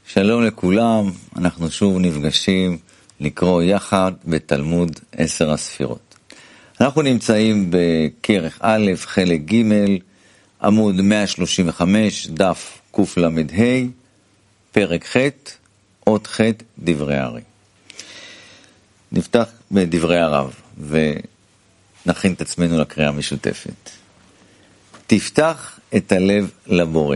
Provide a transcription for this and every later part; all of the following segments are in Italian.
שלום לכולם, אנחנו שוב נפגשים לקרוא יחד בתלמוד 10 הספירות. אנחנו נמצאים בכרך א', חלק ג', עמוד 135, דף קל"ה, פרק ח', אות ח', דברי הארי. נפתח בדברי הרב ונכין את עצמנו לקריאה המשותפת. תפתח את הלב לבורא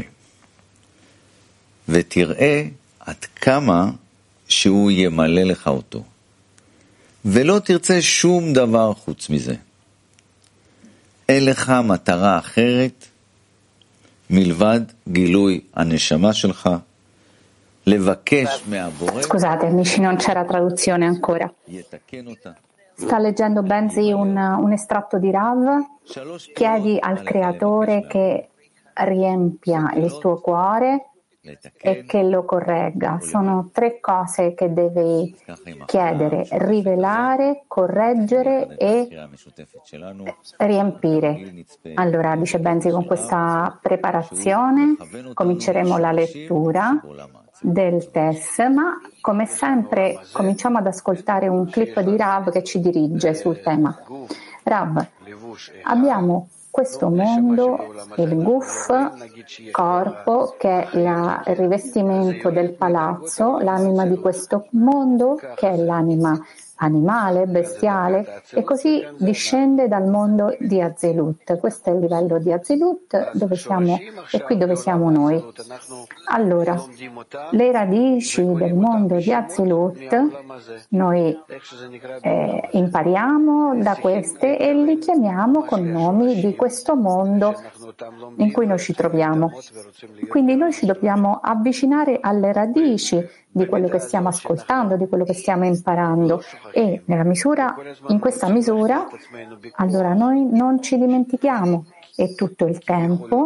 ותראה עד כמה שהוא ימלא לך אותו, ולא תרצה שום דבר חוץ מזה. אין לך מטרה אחרת מלבד גילוי הנשמה שלך, לבקש מהבורא. Scusate, amici, non c'era traduzione ancora. יתקן אותה. Sta leggendo Benzi un estratto di Rav. Chiedi al creatore che riempia il tuo cuore e che lo corregga. Sono tre cose che devi chiedere: rivelare, correggere e riempire. Allora, dice Benzi, con questa preparazione cominceremo la lettura del test, ma come sempre cominciamo ad ascoltare un clip di Rav che ci dirige sul tema. Rav, abbiamo questo mondo, il guf, corpo, che è il rivestimento del palazzo, l'anima di questo mondo, che è l'anima animale, bestiale, e così discende dal mondo di Azilut. Questo è il livello di Azilut, dove siamo, e qui dove siamo noi. Allora, le radici del mondo di Azilut noi impariamo da queste e li chiamiamo con nomi di questo mondo in cui noi ci troviamo. Quindi noi ci dobbiamo avvicinare alle radici di quello che stiamo ascoltando, di quello che stiamo imparando, e in questa misura, allora noi non ci dimentichiamo e tutto il tempo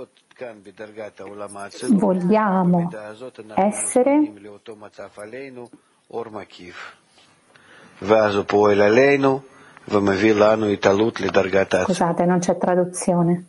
vogliamo essere Scusate, non c'è traduzione.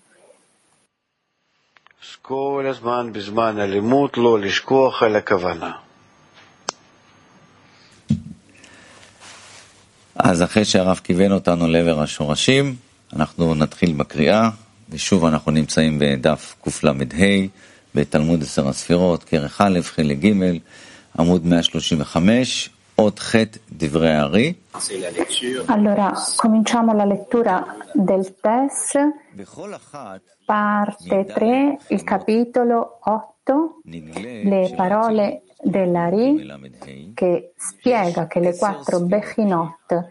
אז אחרי שהרב כיוון אותנו לעבר השורשים, אנחנו נתחיל בקריאה, ושוב אנחנו נמצאים בדף קל"ה, בתלמוד 10 הספירות, כרך א', חלק ג', עמוד 135, אות ח', דברי הארי. Allora, cominciamo la lettura del test, parte 3, il capitolo 8, le parole dell'Ari, che spiega che le 4 Bechinot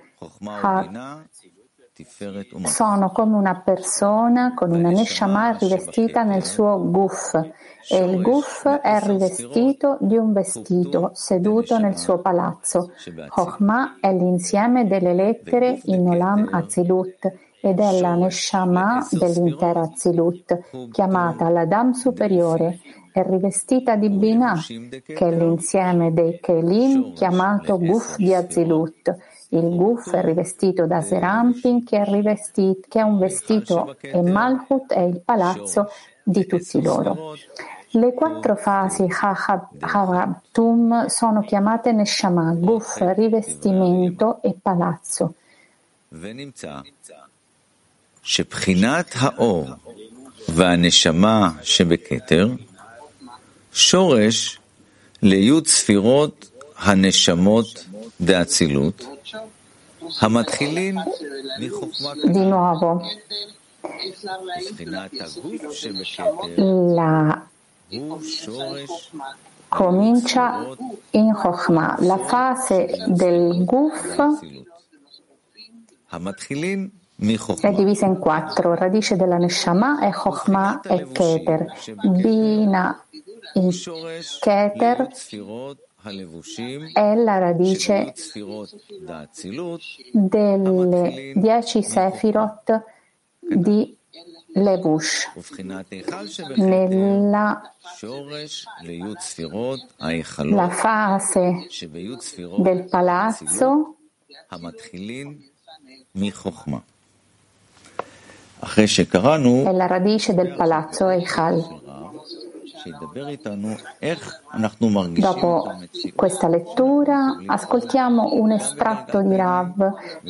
sono come una persona con una Neshama rivestita nel suo guf, e il guf è rivestito di un vestito seduto nel suo palazzo. Chokhmah è l'insieme delle lettere in Olam Azilut ed è la Neshama dell'intera Azilut, chiamata l'Adam superiore. È rivestita di Binah, che è l'insieme dei Kelim, chiamato guf di Azilut. Il guf è rivestito da Serampin, che è un vestito, e Malchut è il palazzo di tutti loro. Le 4 fasi Chavatum sono chiamate Neshama, guf, rivestimento e palazzo. שבחינת האור והנשמה שבכתר שורש ליוד ספירות הנשמות דאצילות המתחילין מחוכמה. Di nuovo, בחינת הגוף שבכתר הוא שורש comincia in Chokhmah. La fase del guf המתחילין è divisa in 4. Radice della Neshama è Chokhmah e Keter. Bina in Keter è la radice delle 10 Sefirot di Levush. La fase del palazzo è la radice del palazzo Eichal. Dopo questa lettura ascoltiamo un estratto di Rav.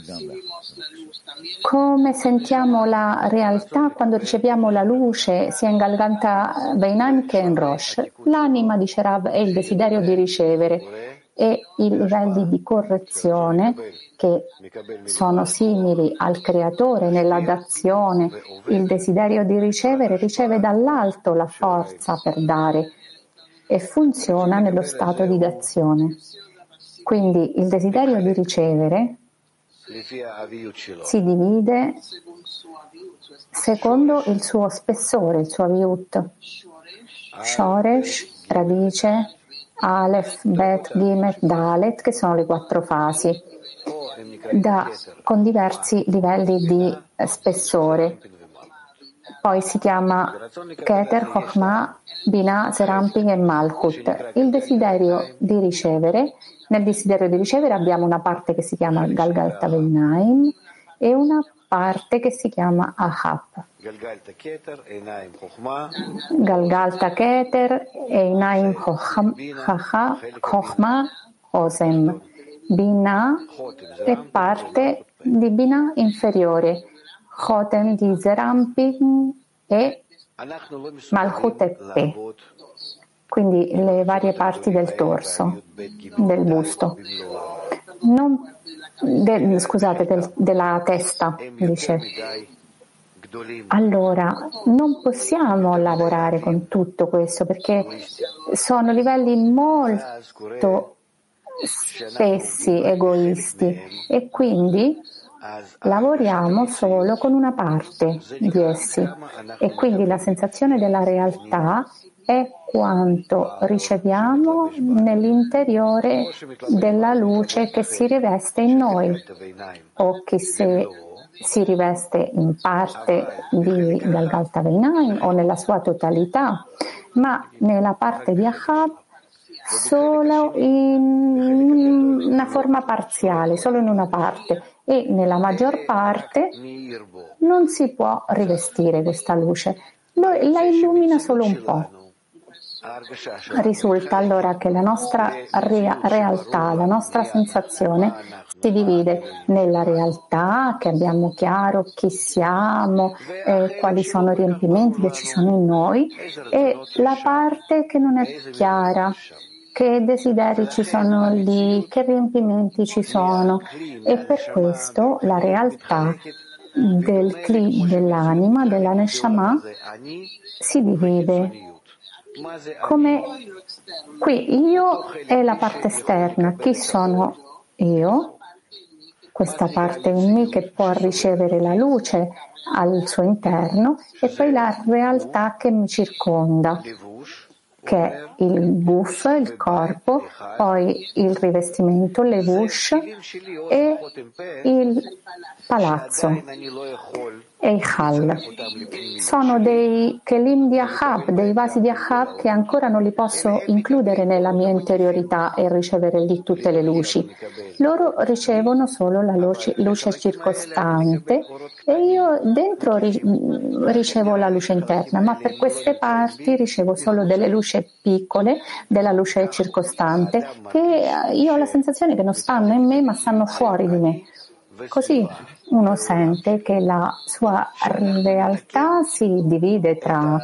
Come sentiamo la realtà quando riceviamo la luce sia in Galganta Beinaim che in Rosh? L'anima, dice Rav, è il desiderio di ricevere e i livelli di correzione che sono simili al creatore nella dazione, il desiderio di ricevere riceve dall'alto la forza per dare e funziona nello stato di dazione. Quindi il desiderio di ricevere si divide secondo il suo spessore, il suo aviut. Shoresh, radice, Aleph, Bet, Gimet, Dalet, che sono le 4 fasi, con diversi livelli di spessore. Poi si chiama Keter, Chokhmah, Binah, Seramping e Malchut. Il desiderio di ricevere, nel desiderio di ricevere abbiamo una parte che si chiama Galgalta Beinaim e una parte che si chiama Ahab. Galgalta Keter, Einaim Chokhmah, Osem. Binah è parte di Binah inferiore, Chotem di Zeramping e Malchut e Pe, quindi le varie parti del torso, del busto. Della testa, dice. Allora, non possiamo lavorare con tutto questo perché sono livelli molto spessi, egoisti, e quindi lavoriamo solo con una parte di essi, e quindi la sensazione della realtà è quanto riceviamo nell'interiore della luce che si riveste in noi, o che se si riveste in parte di Galgalta Beinaim o nella sua totalità, ma nella parte di Ahab solo in una forma parziale, solo in una parte, e nella maggior parte non si può rivestire questa luce, la illumina solo un po'. Risulta allora che la nostra realtà, la nostra sensazione si divide nella realtà, che abbiamo chiaro chi siamo, quali sono i riempimenti che ci sono in noi, e la parte che non è chiara, che desideri ci sono lì, che riempimenti ci sono, e per questo la realtà del Kli, dell'anima, della Neshama, si divide. Come qui io è la parte esterna, chi sono io? Questa parte in me che può ricevere la luce al suo interno, e poi la realtà che mi circonda, che è il guf, il corpo, poi il rivestimento, levush, e il palazzo, Eichal. Sono dei kelim di Ahab, dei vasi di Ahab che ancora non li posso includere nella mia interiorità e ricevere lì tutte le luci. Loro ricevono solo la luce circostante e io dentro ricevo la luce interna, ma per queste parti ricevo solo delle luci piccole, della luce circostante, che io ho la sensazione che non stanno in me ma stanno fuori di me. Così uno sente che la sua realtà si divide tra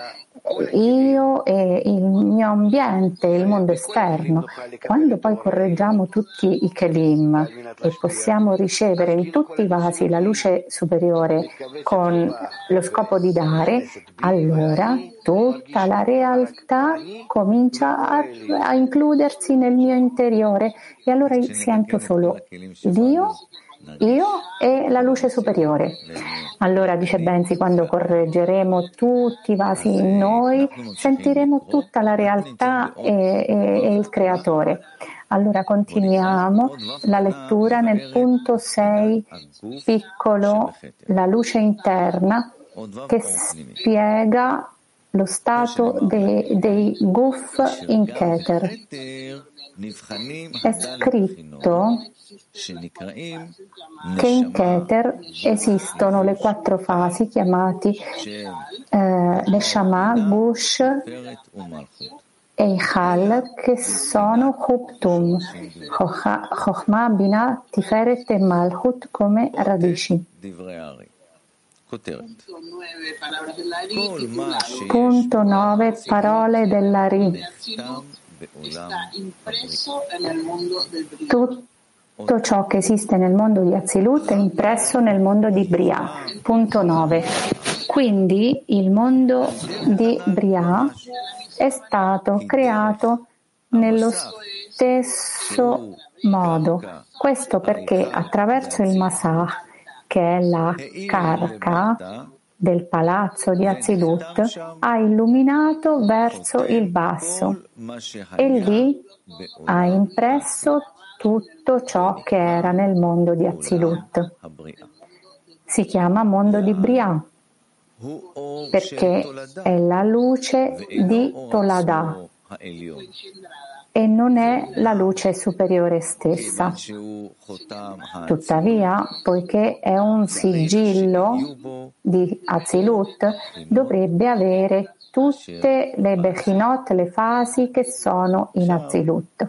io e il mio ambiente, il mondo esterno. Quando poi correggiamo tutti i kelim e possiamo ricevere in tutti i vasi la luce superiore con lo scopo di dare, allora tutta la realtà comincia a includersi nel mio interiore, e allora sento solo Dio, io e la luce superiore. Allora, dice Benzi, quando correggeremo tutti i vasi in noi, sentiremo tutta la realtà e il creatore. Allora continuiamo la lettura nel punto 6, piccolo, la luce interna, che spiega lo stato dei guf in Keter. È scritto che in Keter esistono le 4 fasi chiamate Neshama, Gush e Ichal, che sono Chuptum, Chochma, Binah, Tiferet e Malchut come radici. Punto 9. Parole dell'Ari. Tutto ciò che esiste nel mondo di Atzilut è impresso nel mondo di Bria. Punto 9. Quindi il mondo di Bria è stato creato nello stesso modo. Questo perché attraverso il Masach, che è la carca del palazzo di Atzilut, ha illuminato verso il basso e lì ha impresso tutto ciò che era nel mondo di Atzilut. Si chiama mondo di Bria perché è la luce di Toladah e non è la luce superiore stessa. Tuttavia, poiché è un sigillo di Atzilut, dovrebbe avere tutte le Bechinot, le fasi che sono in Atzilut.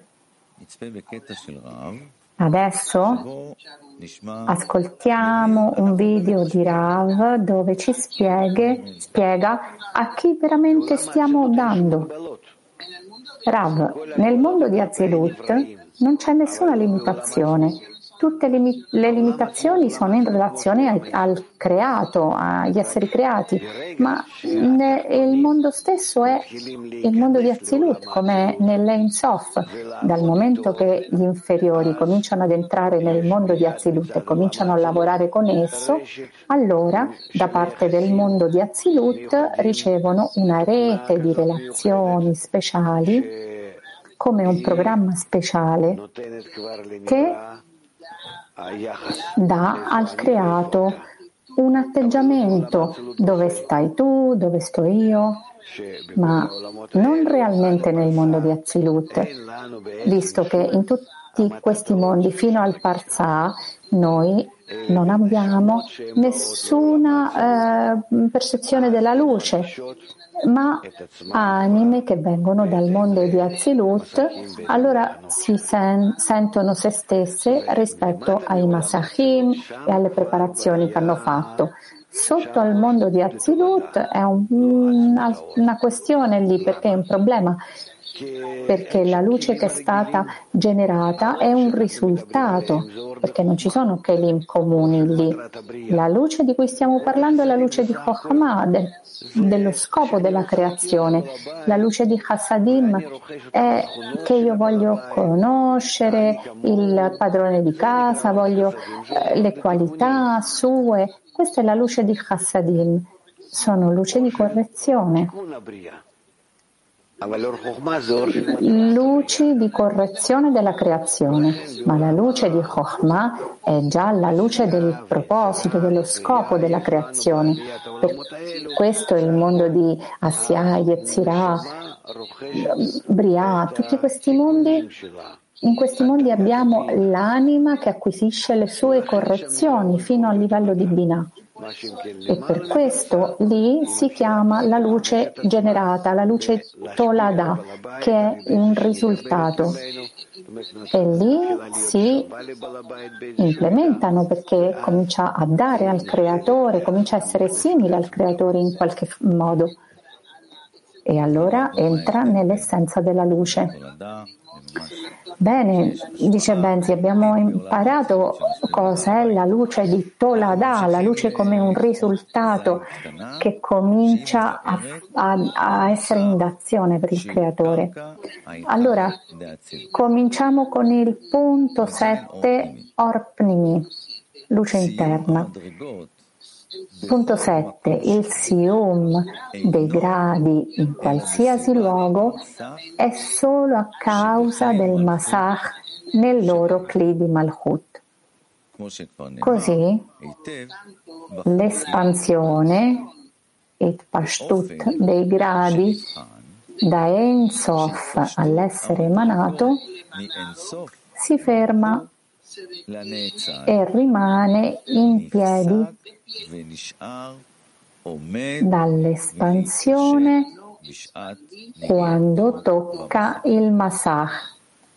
Adesso ascoltiamo un video di Rav dove ci spiega a chi veramente stiamo dando. Rav, nel mondo di Atzilut non c'è nessuna limitazione. Tutte le limitazioni sono in relazione al creato, agli esseri creati, ma il mondo stesso è il mondo di Atzilut, come nell'Ein Sof. Dal momento che gli inferiori cominciano ad entrare nel mondo di Atzilut e cominciano a lavorare con esso, allora da parte del mondo di Atzilut ricevono una rete di relazioni speciali, come un programma speciale che dà al creato un atteggiamento: dove stai tu, dove sto io, ma non realmente nel mondo di Atzilut, visto che in tutti questi mondi fino al Parzah noi non abbiamo nessuna percezione della luce, ma anime che vengono dal mondo di Atzilut, allora si sentono se stesse rispetto ai Masachim e alle preparazioni che hanno fatto. Sotto al mondo di Atzilut è una questione lì, perché è un problema, perché la luce che è stata generata è un risultato, perché non ci sono kelim comuni lì. La luce di cui stiamo parlando è la luce di Chochmah, dello scopo della creazione. La luce di Chassadim è che io voglio conoscere il padrone di casa, voglio le qualità sue. Questa è la luce di Chassadim, sono luce di correzione. Luci di correzione della creazione, ma la luce di Chochmah è già la luce del proposito, dello scopo della creazione. Per questo il mondo di Asya, Yetzirah, Bria, tutti questi mondi, in questi mondi abbiamo l'anima che acquisisce le sue correzioni fino al livello di Binah. E per questo lì si chiama la luce generata, la luce Toladah, che è un risultato. E lì si implementano, perché comincia a dare al creatore, comincia a essere simile al creatore in qualche modo. E allora entra nell'essenza della luce. Bene, dice Benzi, abbiamo imparato cosa è la luce di Toladah, la luce come un risultato che comincia a essere in d'azione per il creatore. Allora, cominciamo con il punto 7, Orpnimi, luce interna. Punto 7. Il sium dei gradi in qualsiasi luogo è solo a causa del Masach nel loro Kli di Malchut. Così l'espansione, Pashtut dei gradi da Ein Sof all'essere emanato, si ferma e rimane in piedi dall'espansione quando tocca il Masach.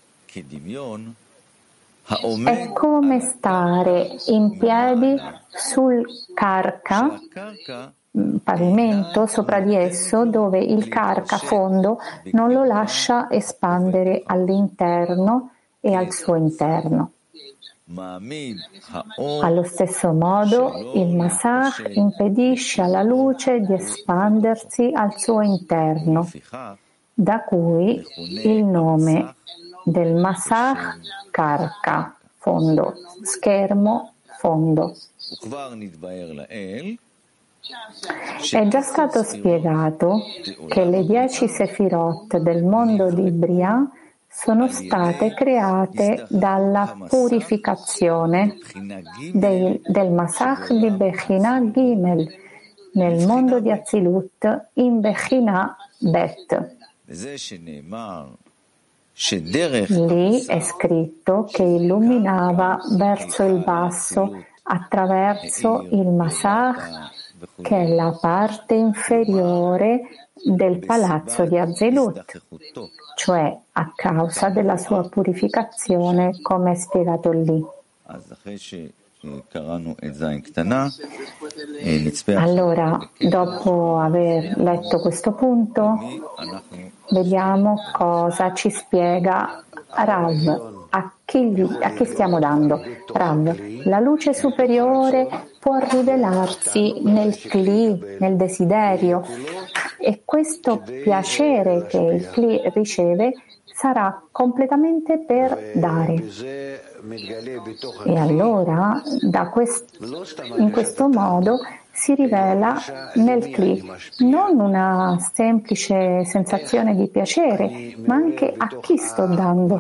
È come stare in piedi sul karka, pavimento sopra di esso, dove il karka fondo non lo lascia espandere all'interno e al suo interno. Allo stesso modo, il Masach impedisce alla luce di espandersi al suo interno, da cui il nome del Masach Karka, fondo, schermo, fondo. È già stato spiegato che le 10 Sefirot del mondo di Briah sono state create dalla purificazione del Masach di Bechina Gimel nel mondo di Atzilut in Bechina Bet. Lì è scritto che illuminava verso il basso attraverso il Masach, che è la parte inferiore del palazzo di Atzilut, cioè a causa della sua purificazione, come è spiegato lì. Allora, dopo aver letto questo punto, vediamo cosa ci spiega Rav. A chi stiamo dando? Rav, la luce superiore può rivelarsi nel Kli, nel desiderio, e questo piacere che il Kli riceve sarà completamente per dare. E allora, in questo modo, si rivela nel Kli non una semplice sensazione di piacere, ma anche a chi sto dando.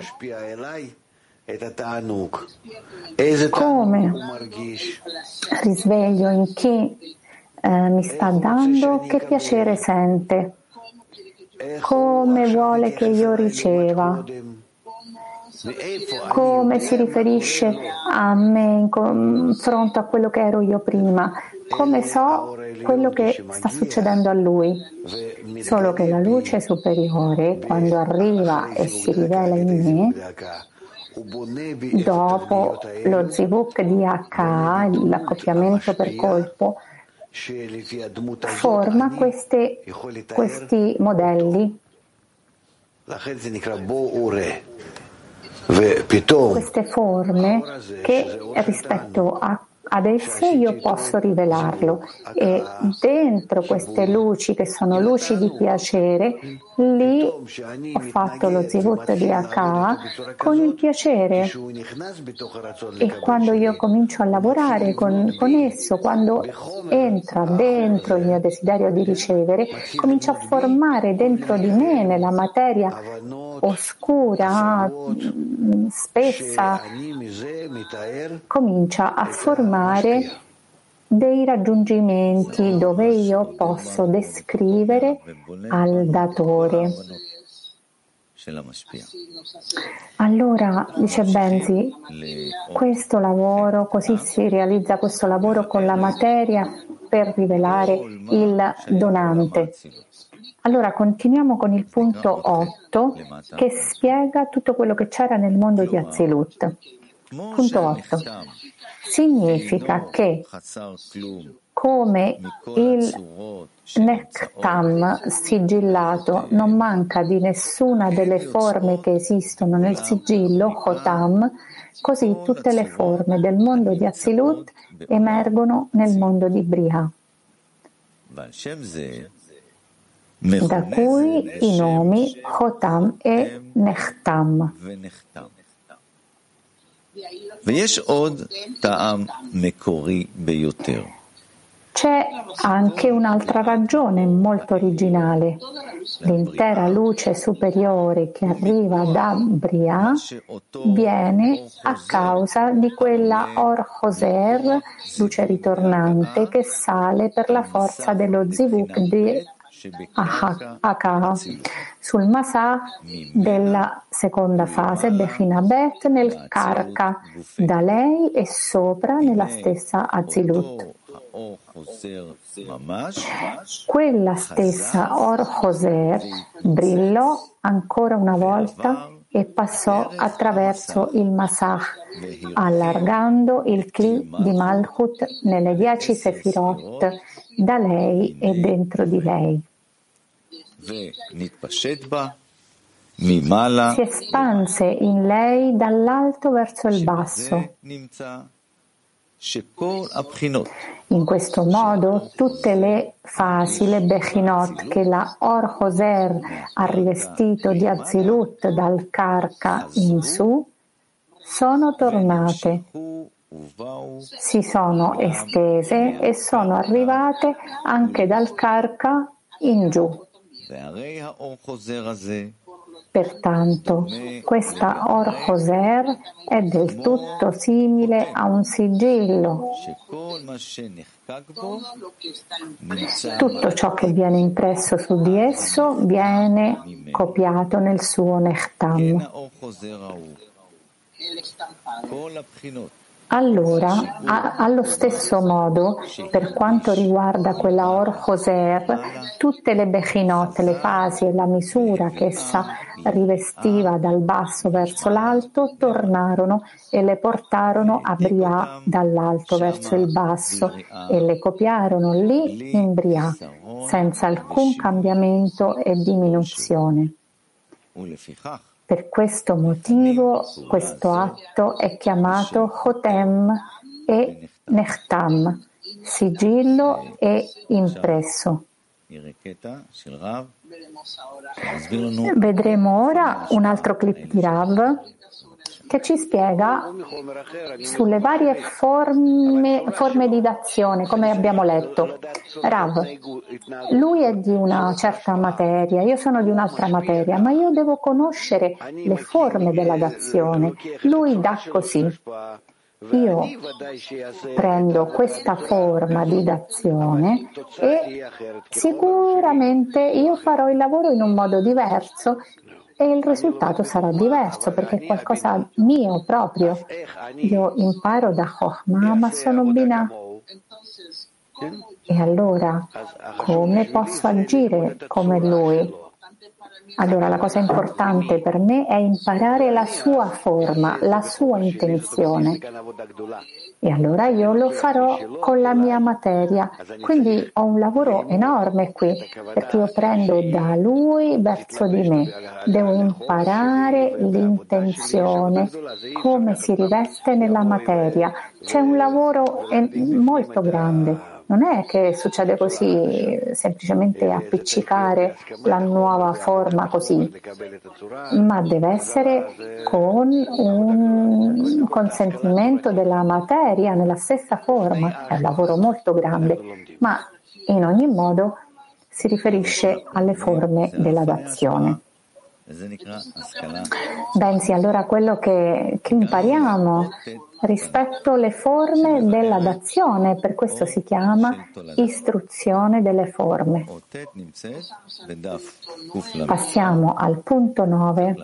Come risveglio in chi mi sta dando, che piacere sente, come vuole che io riceva, come si riferisce a me in confronto a quello che ero io prima, come so quello che sta succedendo a lui. Solo che la luce superiore, quando arriva e si rivela in me, dopo lo zivuk di H, l'accoppiamento per colpo, forma questi modelli, queste forme che rispetto ad esse io posso rivelarlo, e dentro queste luci che sono luci di piacere, lì ho fatto lo zivut di Haka con il piacere, e quando io comincio a lavorare con esso, quando entra dentro il mio desiderio di ricevere, comincia a formare dentro di me, nella materia oscura, spessa, comincia a formare dei raggiungimenti dove io posso descrivere al datore. Allora, dice Benzi, questo lavoro, così si realizza questo lavoro con la materia per rivelare il donante. Allora continuiamo con il punto 8 che spiega tutto quello che c'era nel mondo di Atzilut. Punto 8. Significa che come il Nektam sigillato non manca di nessuna delle forme che esistono nel sigillo, Chotam, così tutte le forme del mondo di Atzilut emergono nel mondo di Briah, da cui i nomi Chotam e Nechtam. C'è anche un'altra ragione molto originale. L'intera luce superiore che arriva da Briah viene a causa di quella Or Hoser, luce ritornante, che sale per la forza dello Zivuk di Akaha, sul Masah della seconda fase, Bechina Bet, nel Karka, da lei e sopra nella stessa Azilut. Quella stessa Or Hoser brillò ancora una volta e passò attraverso il Masah, allargando il Kli di Malchut nelle 10 Sefirot da lei e dentro di lei. Si espanse in lei dall'alto verso il basso. In questo modo tutte le fasi, le Bechinot, che la Or Hoser ha rivestito di Azilut dal Karka in su, sono tornate, si sono estese e sono arrivate anche dal Karka in giù. Pertanto, questa Or Hoser è del tutto simile a un sigillo. Tutto ciò che viene impresso su di esso viene copiato nel suo Nechtam. Allora, allo stesso modo, per quanto riguarda quella Or Hoser, tutte le Bechinot, le fasi e la misura che essa rivestiva dal basso verso l'alto, tornarono e le portarono a Briah dall'alto verso il basso e le copiarono lì in Briah, senza alcun cambiamento e diminuzione. Per questo motivo questo atto è chiamato Chotem e Nechtam, sigillo e impresso. Vedremo ora un altro clip di Rav che ci spiega sulle varie forme di dazione, come abbiamo letto. Rav, lui è di una certa materia, io sono di un'altra materia, ma io devo conoscere le forme della dazione. Lui dà così. Io prendo questa forma di dazione e sicuramente io farò il lavoro in un modo diverso e il risultato sarà diverso perché è qualcosa mio proprio. Io imparo da Chokhmah, ma sono Binah. E allora come posso agire come lui? Allora la cosa importante per me è imparare la sua forma, la sua intenzione. E allora io lo farò con la mia materia. Quindi ho un lavoro enorme qui, perché io prendo da lui verso di me. Devo imparare l'intenzione, come si riveste nella materia. C'è un lavoro molto grande. Non è che succede così, semplicemente appiccicare la nuova forma così, ma deve essere con un consentimento della materia nella stessa forma. È un lavoro molto grande, ma in ogni modo si riferisce alle forme della dazione. Bensì, allora quello che impariamo rispetto alle forme della dazione, per questo si chiama istruzione delle forme. Passiamo al punto 9.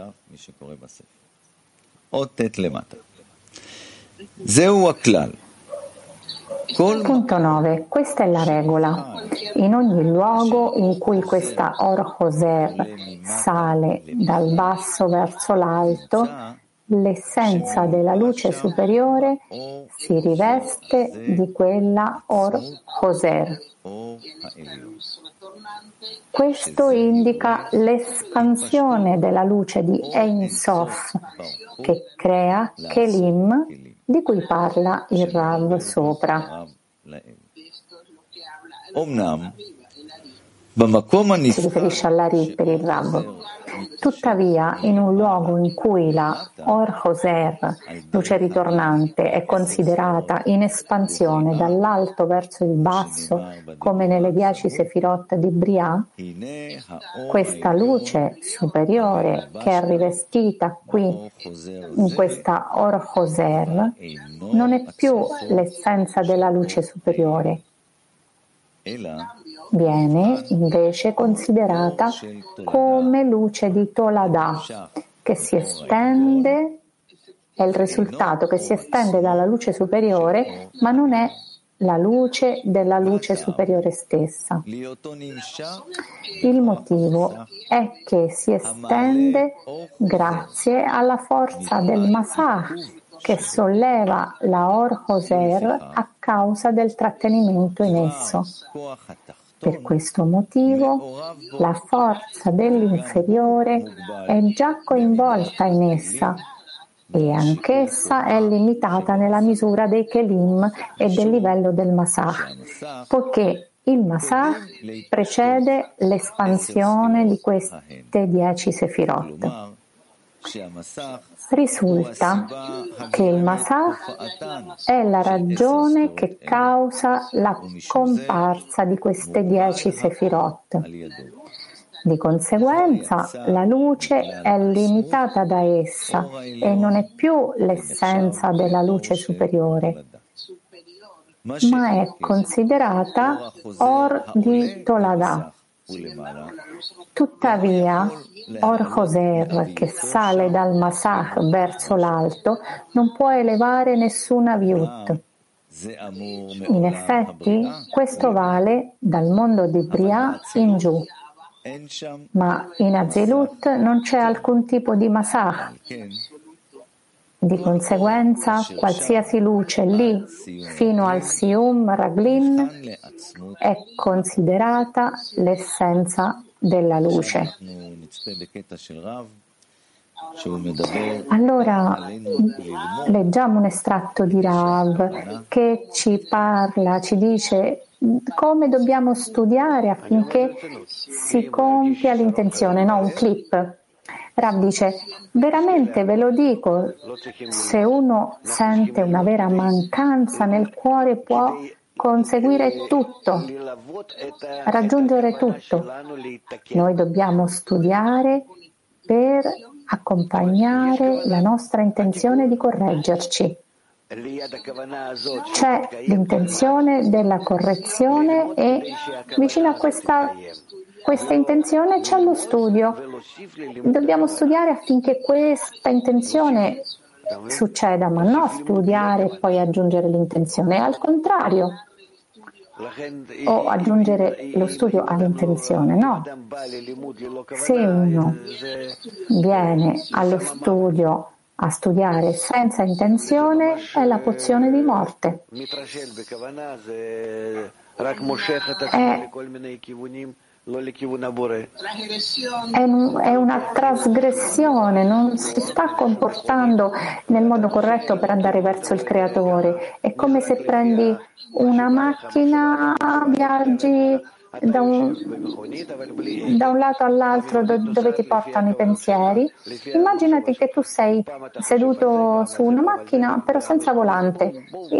Punto 9. Questa è la regola. In ogni luogo in cui questa Or Hoser sale dal basso verso l'alto, l'essenza della luce superiore si riveste di quella Or Hoser. Questo indica l'espansione della luce di Ein Sof, che crea Kelim, di cui parla il Rav sopra. Si riferisce all'Ari per il Rav. Tuttavia, in un luogo in cui la Or Hoser, luce ritornante, è considerata in espansione dall'alto verso il basso, come nelle 10 Sefirot di Briah, questa luce superiore che è rivestita qui in questa Or Hoser non è più l'essenza della luce superiore, viene invece considerata come luce di Tolada, che si estende, è il risultato che si estende dalla luce superiore, ma non è la luce della luce superiore stessa. Il motivo è che si estende grazie alla forza del Masach, che solleva la Or Hoser a causa del trattenimento in esso. Per questo motivo la forza dell'inferiore è già coinvolta in essa e anch'essa è limitata nella misura dei Kelim e del livello del Masach, poiché il Masach precede l'espansione di queste 10 Sefirot. Risulta che il Masach è la ragione che causa la comparsa di queste 10 Sefirot. Di conseguenza, la luce è limitata da essa e non è più l'essenza della luce superiore, ma è considerata Or di Tolada. Tuttavia, Or Hoser, che sale dal Masach verso l'alto, non può elevare nessuna Viut. In effetti, questo vale dal mondo di Briah in giù. Ma in Azilut non c'è alcun tipo di Masach. Di conseguenza, qualsiasi luce lì, fino al Sium Raglin, è considerata l'essenza della luce. Allora, leggiamo un estratto di Rav che ci parla, ci dice come dobbiamo studiare affinché si compia l'intenzione, no? Un clip. Rav dice, veramente ve lo dico, se uno sente una vera mancanza nel cuore può conseguire tutto, raggiungere tutto. Noi dobbiamo studiare per accompagnare la nostra intenzione di correggerci. C'è l'intenzione della correzione e vicino a questa intenzione c'è lo studio. Dobbiamo studiare affinché questa intenzione succeda, ma non studiare e poi aggiungere l'intenzione, al contrario, o aggiungere lo studio all'intenzione, no. Se uno viene allo studio a studiare senza intenzione è la pozione di morte. È una trasgressione, non si sta comportando nel modo corretto per andare verso il Creatore. È come se prendi una macchina, viaggi da un lato all'altro dove ti portano i pensieri. Immaginati che tu sei seduto su una macchina però senza volante.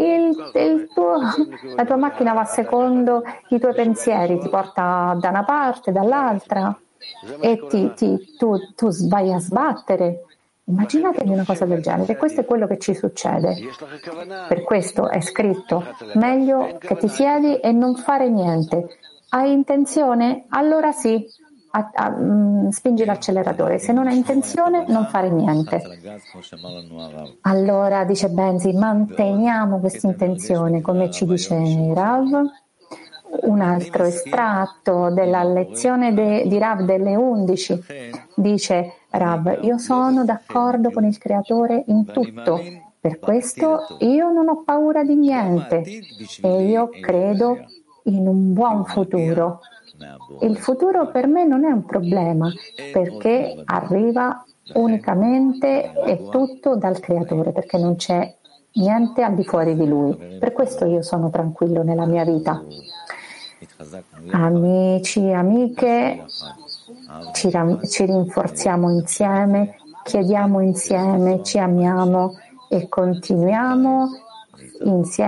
La tua macchina va secondo i tuoi pensieri, ti porta da una parte, dall'altra e tu vai a sbattere. Immaginatevi una cosa del genere, questo è quello che ci succede. Per questo è scritto, meglio che ti siedi e non fare niente. Hai intenzione? Allora sì, spingi l'acceleratore. Se non hai intenzione, non fare niente. Allora, dice Benzi, manteniamo questa intenzione, come ci dice Rav. Un altro estratto della lezione di Rav delle 11 dice Rav, io sono d'accordo con il Creatore in tutto, per questo io non ho paura di niente e io credo in un buon futuro. Il futuro per me non è un problema perché arriva unicamente e tutto dal Creatore, perché non c'è niente al di fuori di Lui. Per questo io sono tranquillo nella mia vita. Amici, amiche, ci rinforziamo insieme, chiediamo insieme, ci amiamo e continuiamo insieme